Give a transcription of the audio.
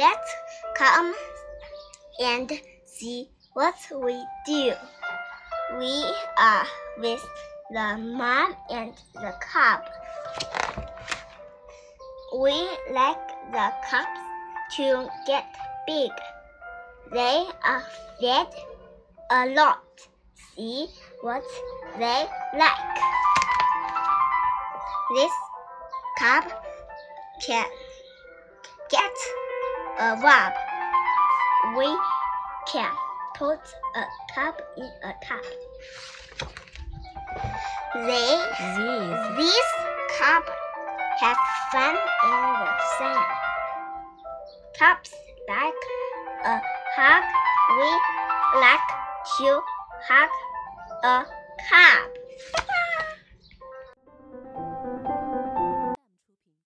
Let's come and see what we do. We are with the mom and the cub. We like the cubs to get big. They are fed a lot. See what they like. This cub can get a rub. We can put a cub in a tub. These cubs have fun in the sun. Cubs like a hug. We like to hug a cub.